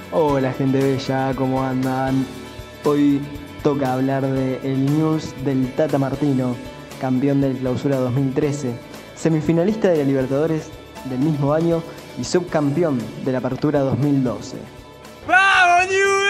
Hola gente bella, ¿cómo andan? Hoy toca hablar de el Newell's del Tata Martino, campeón del Clausura 2013, semifinalista de la Libertadores del mismo año y subcampeón de la Apertura 2012. ¡Vamos,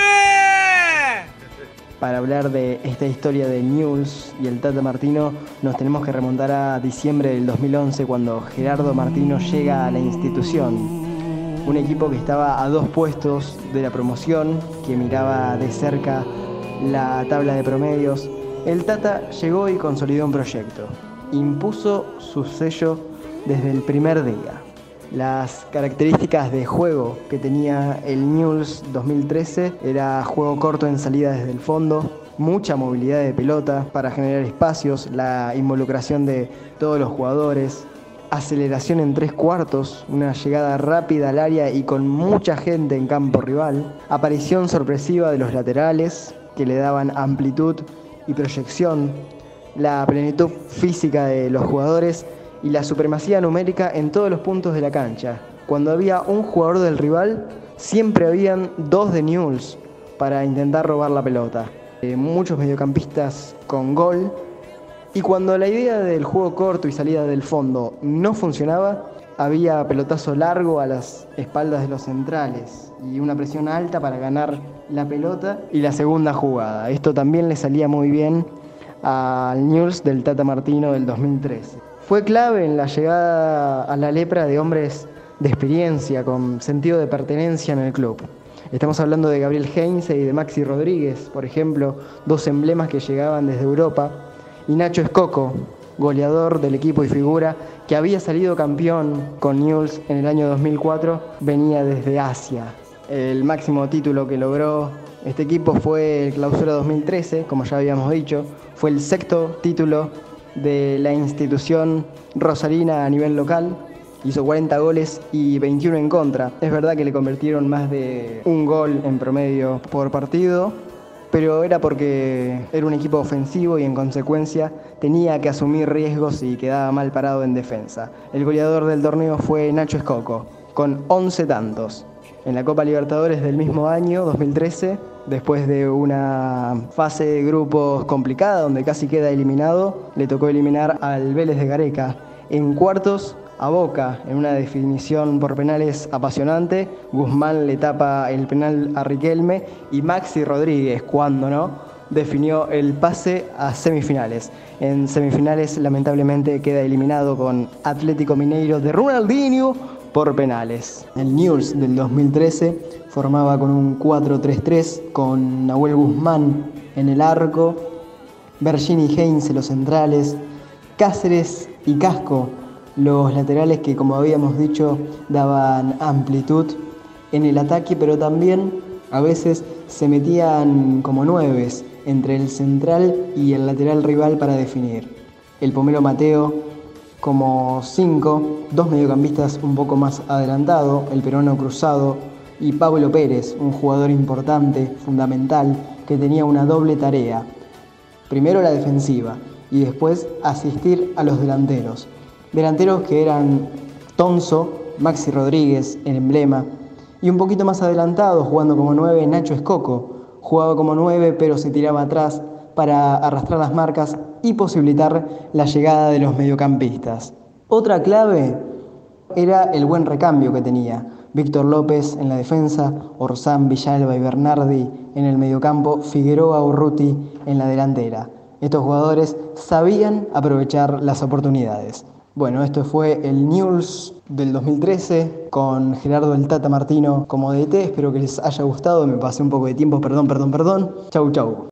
Newell's! Para hablar de esta historia de Newell's y el Tata Martino, nos tenemos que remontar a diciembre del 2011 cuando Gerardo Martino llega a la institución. Un equipo que estaba a 2 puestos de la promoción, que miraba de cerca la tabla de promedios. El Tata llegó y consolidó un proyecto. Impuso su sello desde el primer día. Las características de juego que tenía el Newell's 2013 era juego corto en salida desde el fondo, mucha movilidad de pelota para generar espacios, la involucración de todos los jugadores, aceleración en 3/4, una llegada rápida al área y con mucha gente en campo rival, aparición sorpresiva de los laterales que le daban amplitud y proyección, la plenitud física de los jugadores y la supremacía numérica en todos los puntos de la cancha. Cuando había un jugador del rival, siempre habían 2 de Newell's para intentar robar la pelota. Muchos mediocampistas con gol. Y cuando la idea del juego corto y salida del fondo no funcionaba, había pelotazo largo a las espaldas de los centrales y una presión alta para ganar la pelota y la segunda jugada. Esto también le salía muy bien al Newell's del Tata Martino del 2013. Fue clave en la llegada a la lepra de hombres de experiencia, con sentido de pertenencia en el club. Estamos hablando de Gabriel Heinze y de Maxi Rodríguez, por ejemplo, 2 emblemas que llegaban desde Europa. Y Nacho Escoco, goleador del equipo y figura, que había salido campeón con Newell's en el año 2004, venía desde Asia. El máximo título que logró este equipo fue el Clausura 2013, como ya habíamos dicho. Fue el 6º título de la institución rosarina a nivel local. Hizo 40 goles y 21 en contra. Es verdad que le convirtieron más de un gol en promedio por partido, pero era porque era un equipo ofensivo y en consecuencia tenía que asumir riesgos y quedaba mal parado en defensa. El goleador del torneo fue Nacho Escoco, con 11 tantos. En la Copa Libertadores del mismo año, 2013, después de una fase de grupos complicada donde casi queda eliminado, le tocó eliminar al Vélez de Gareca. En cuartos, a Boca, en una definición por penales apasionante. Guzmán le tapa el penal a Riquelme y Maxi Rodríguez, cuando no, definió el pase a semifinales. En semifinales lamentablemente queda eliminado con Atlético Mineiro de Ronaldinho por penales. El Newell's del 2013 formaba con un 4-3-3 con Nahuel Guzmán en el arco, Bergini y Heinze los centrales, Cáceres y Casco los laterales que, como habíamos dicho, daban amplitud en el ataque, pero también a veces se metían como 9 entre el central y el lateral rival para definir. El Pomelo Mateo como 5, 2 mediocampistas un poco más adelantado, el peruano Cruzado y Pablo Pérez, un jugador importante, fundamental, que tenía una doble tarea. Primero la defensiva y después asistir a los delanteros. Delanteros que eran Tonso, Maxi Rodríguez, el emblema, y un poquito más adelantado, jugando como 9, Nacho Escoco. Jugaba como 9, pero se tiraba atrás para arrastrar las marcas y posibilitar la llegada de los mediocampistas. Otra clave era el buen recambio que tenía. Víctor López en la defensa, Orsán, Villalba y Bernardi en el mediocampo, Figueroa, Urruti en la delantera. Estos jugadores sabían aprovechar las oportunidades. Bueno, esto fue el Newell's del 2013 con Gerardo el Tata Martino como DT. Espero que les haya gustado. Me pasé un poco de tiempo, perdón. Chau.